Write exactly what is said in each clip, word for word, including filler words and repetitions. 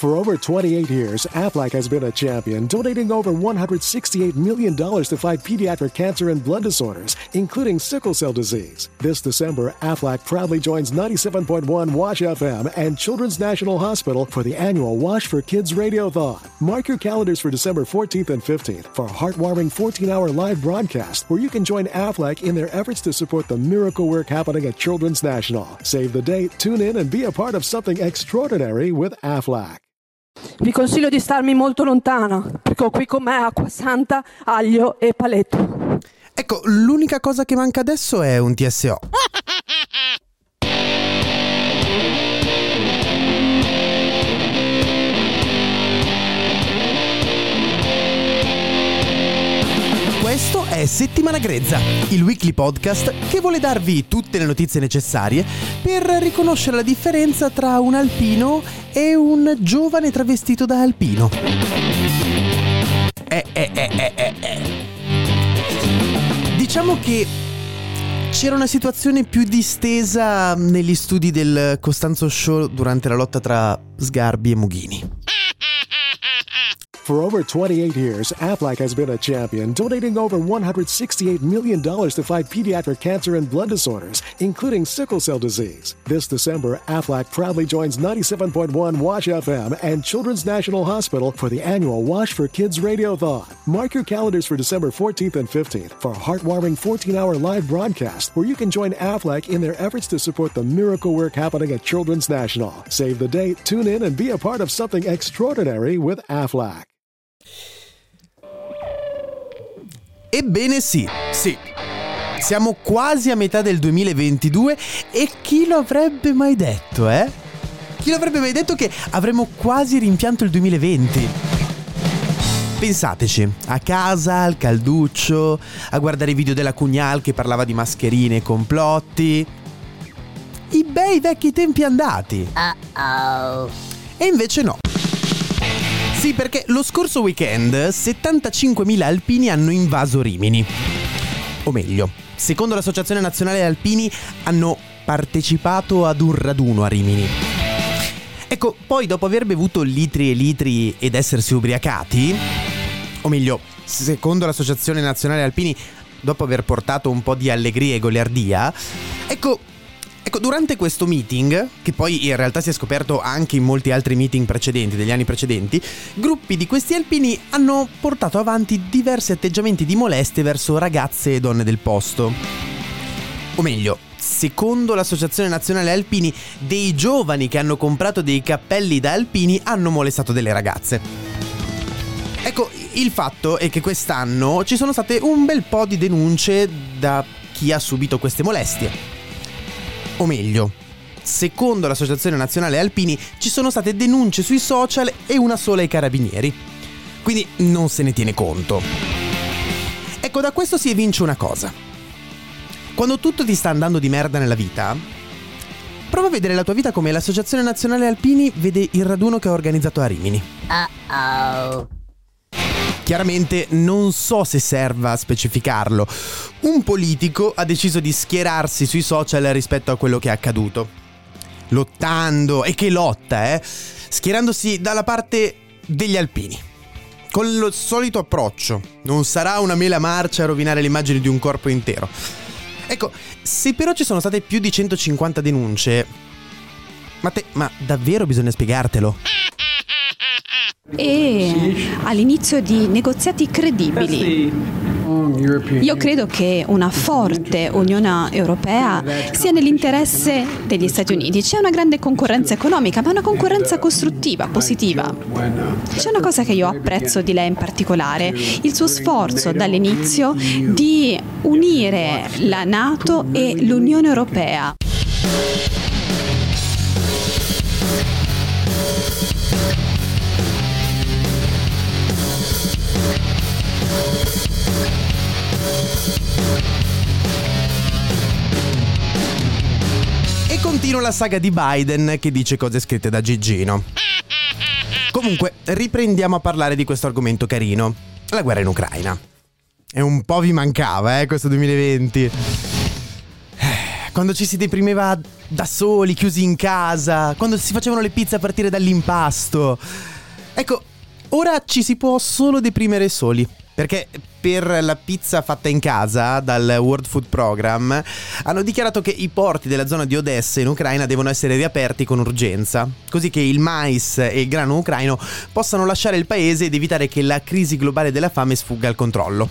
For over twenty-eight years, Aflac has been a champion, donating over one hundred sixty-eight million dollars to fight pediatric cancer and blood disorders, including sickle cell disease. This December, Aflac proudly joins ninety-seven point one Wash F M and Children's National Hospital for the annual Wash for Kids Radiothon. Mark your calendars for December fourteenth and fifteenth for a heartwarming fourteen-hour live broadcast where you can join Aflac in their efforts to support the miracle work happening at Children's National. Save the date, tune in, and be a part of something extraordinary with Aflac. Vi consiglio di starmi molto lontana, perché ho qui con me acqua santa, aglio e paletto. Ecco, l'unica cosa che manca adesso è un T S O. Questo è Settimana Grezza, il weekly podcast che vuole darvi tutte le notizie necessarie per riconoscere la differenza tra un alpino e un giovane travestito da alpino. Eh, eh, eh, eh, eh, eh. Diciamo che c'era una situazione più distesa negli studi del Costanzo Show durante la lotta tra Sgarbi e Mughini. For over twenty-eight years, Aflac has been a champion, donating over one hundred sixty-eight million dollars to fight pediatric cancer and blood disorders, including sickle cell disease. This December, Aflac proudly joins ninety-seven point one Wash F M and Children's National Hospital for the annual Wash for Kids Radiothon. Mark your calendars for December fourteenth and fifteenth for a heartwarming fourteen-hour live broadcast where you can join Aflac in their efforts to support the miracle work happening at Children's National. Save the date, tune in, and be a part of something extraordinary with Aflac. Ebbene sì, sì. Siamo quasi a metà del duemilaventidue e chi lo avrebbe mai detto, eh? Chi lo avrebbe mai detto che avremmo quasi rimpianto il duemilaventi? Pensateci, a casa, al calduccio, a guardare i video della Cugnal che parlava di mascherine e complotti. I bei vecchi tempi andati. Uh-oh. E invece no. Sì, perché lo scorso weekend settantacinquemila alpini hanno invaso Rimini. O meglio, secondo l'Associazione Nazionale Alpini hanno partecipato ad un raduno a Rimini. Ecco, poi dopo aver bevuto litri e litri ed essersi ubriacati, o meglio, secondo l'Associazione Nazionale Alpini, dopo aver portato un po' di allegria e goliardia, ecco... Ecco, durante questo meeting, che poi in realtà si è scoperto anche in molti altri meeting precedenti, degli anni precedenti, gruppi di questi alpini hanno portato avanti diversi atteggiamenti di molestie verso ragazze e donne del posto. O meglio, secondo l'Associazione Nazionale Alpini, dei giovani che hanno comprato dei cappelli da alpini hanno molestato delle ragazze. Ecco, il fatto è che quest'anno ci sono state un bel po' di denunce da chi ha subito queste molestie. O meglio, secondo l'Associazione Nazionale Alpini ci sono state denunce sui social e una sola ai carabinieri. Quindi non se ne tiene conto. Ecco, da questo si evince una cosa. Quando tutto ti sta andando di merda nella vita, prova a vedere la tua vita come l'Associazione Nazionale Alpini vede il raduno che ha organizzato a Rimini. Uh-oh. Chiaramente non so se serva a specificarlo. Un politico ha deciso di schierarsi sui social rispetto a quello che è accaduto. Lottando, e che lotta, eh! Schierandosi dalla parte degli alpini. Con il solito approccio. Non sarà una mela marcia a rovinare l'immagine di un corpo intero. Ecco, se però ci sono state più di centocinquanta denunce, ma te, ma davvero bisogna spiegartelo? E all'inizio di negoziati credibili. Io credo che una forte Unione Europea sia nell'interesse degli Stati Uniti. C'è una grande concorrenza economica, ma una concorrenza costruttiva, positiva. C'è una cosa che io apprezzo di lei in particolare, il suo sforzo dall'inizio di unire la NATO e l'Unione Europea. E continua la saga di Biden che dice cose scritte da Gigino. Comunque, riprendiamo a parlare di questo argomento carino. La guerra in Ucraina. E un po' vi mancava, eh, questo duemilaventi. Quando ci si deprimeva da soli, chiusi in casa, quando si facevano le pizze a partire dall'impasto. Ecco, ora ci si può solo deprimere soli, perché per la pizza fatta in casa dal World Food Program hanno dichiarato che i porti della zona di Odessa in Ucraina devono essere riaperti con urgenza, così che il mais e il grano ucraino possano lasciare il paese ed evitare che la crisi globale della fame sfugga al controllo.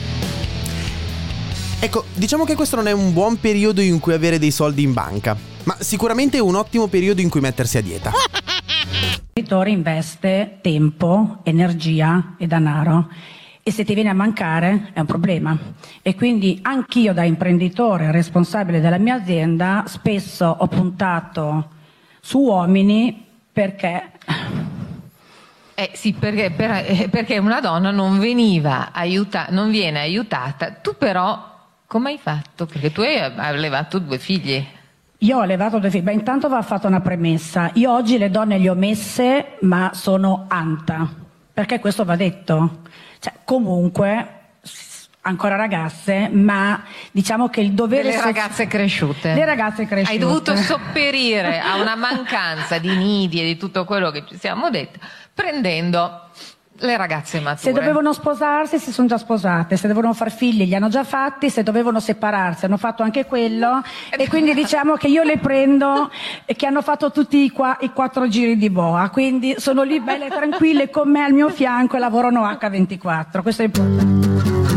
Ecco, diciamo che questo non è un buon periodo in cui avere dei soldi in banca, ma sicuramente è un ottimo periodo in cui mettersi a dieta. L'imprenditore investe tempo, energia e denaro e se ti viene a mancare è un problema. E quindi anch'io da imprenditore responsabile della mia azienda spesso ho puntato su uomini perché... Eh sì, perché, per, perché una donna non veniva aiutata, non viene aiutata. Tu però come hai fatto? Perché tu hai allevato due figli. Io ho allevato due figli. Beh, intanto va fatta una premessa. Io oggi le donne le ho messe, ma sono anta. Perché questo va detto. Cioè, comunque, ancora ragazze, ma diciamo che il dovere... Le ragazze cresciute. Le ragazze cresciute. Hai dovuto sopperire a una mancanza di nidi e di tutto quello che ci siamo detti, prendendo le ragazze mature. Se dovevano sposarsi si sono già sposate, se dovevano far figli li hanno già fatti, se dovevano separarsi hanno fatto anche quello e quindi diciamo che io le prendo e che hanno fatto tutti i, qua, i quattro giri di boa, quindi sono lì belle tranquille con me al mio fianco e lavorano acca ventiquattro, questo è importante.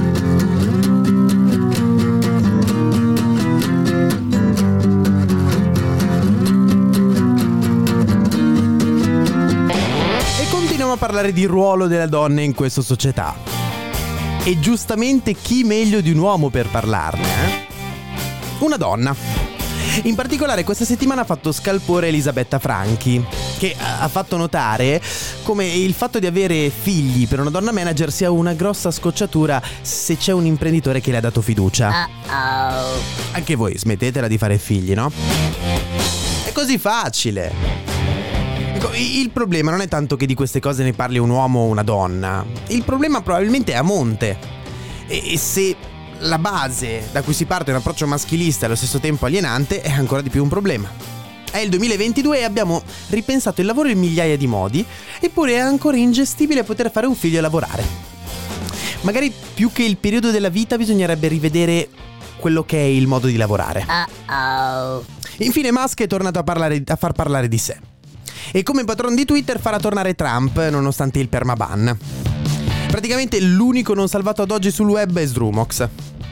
A parlare di ruolo della donna in questa società. E giustamente chi meglio di un uomo per parlarne? Eh? Una donna. In particolare questa settimana ha fatto scalpore Elisabetta Franchi, che ha fatto notare come il fatto di avere figli per una donna manager sia una grossa scocciatura se c'è un imprenditore che le ha dato fiducia. Uh-oh. Anche voi smettetela di fare figli, no? È così facile. Ecco, il problema non è tanto che di queste cose ne parli un uomo o una donna. Il problema probabilmente è a monte. E se la base da cui si parte è un approccio maschilista e allo stesso tempo alienante, è ancora di più un problema. È il duemilaventidue e abbiamo ripensato il lavoro in migliaia di modi, eppure è ancora ingestibile poter fare un figlio e lavorare. Magari più che il periodo della vita bisognerebbe rivedere quello che è il modo di lavorare. Uh-oh. Infine Musk è tornato a, parlare, a far parlare di sé. E come patron di Twitter farà tornare Trump nonostante il permaban. Praticamente l'unico non salvato ad oggi sul web è Sdrumox.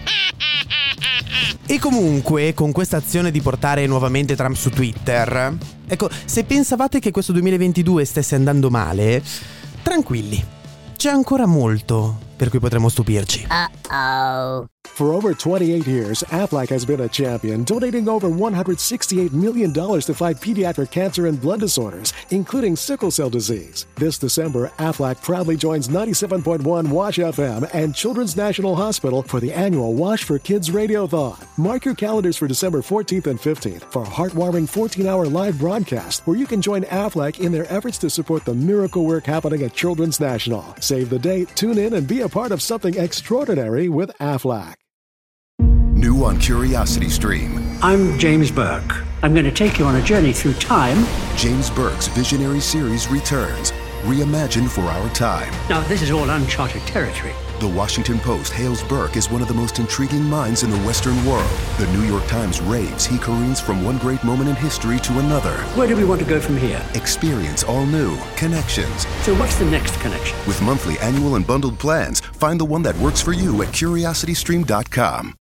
E comunque con questa azione di portare nuovamente Trump su Twitter, ecco, se pensavate che questo duemilaventidue stesse andando male, tranquilli, c'è ancora molto per cui potremo stupirci. Uh-oh. For over twenty-eight years, Aflac has been a champion, donating over one hundred sixty-eight million dollars to fight pediatric cancer and blood disorders, including sickle cell disease. This December, Aflac proudly joins ninety-seven point one Wash F M and Children's National Hospital for the annual Wash for Kids Radiothon. Mark your calendars for December fourteenth and fifteenth for a heartwarming fourteen-hour live broadcast where you can join Aflac in their efforts to support the miracle work happening at Children's National. Save the date, tune in, and be a part of something extraordinary with Aflac. New on Curiosity Stream. I'm James Burke. I'm going to take you on a journey through time. James Burke's visionary series returns, reimagined for our time. Now, this is all uncharted territory. The Washington Post hails Burke as one of the most intriguing minds in the Western world. The New York Times raves he careens from one great moment in history to another. Where do we want to go from here? Experience all new connections. So what's the next connection? With monthly, annual, and bundled plans, find the one that works for you at curiosity stream dot com.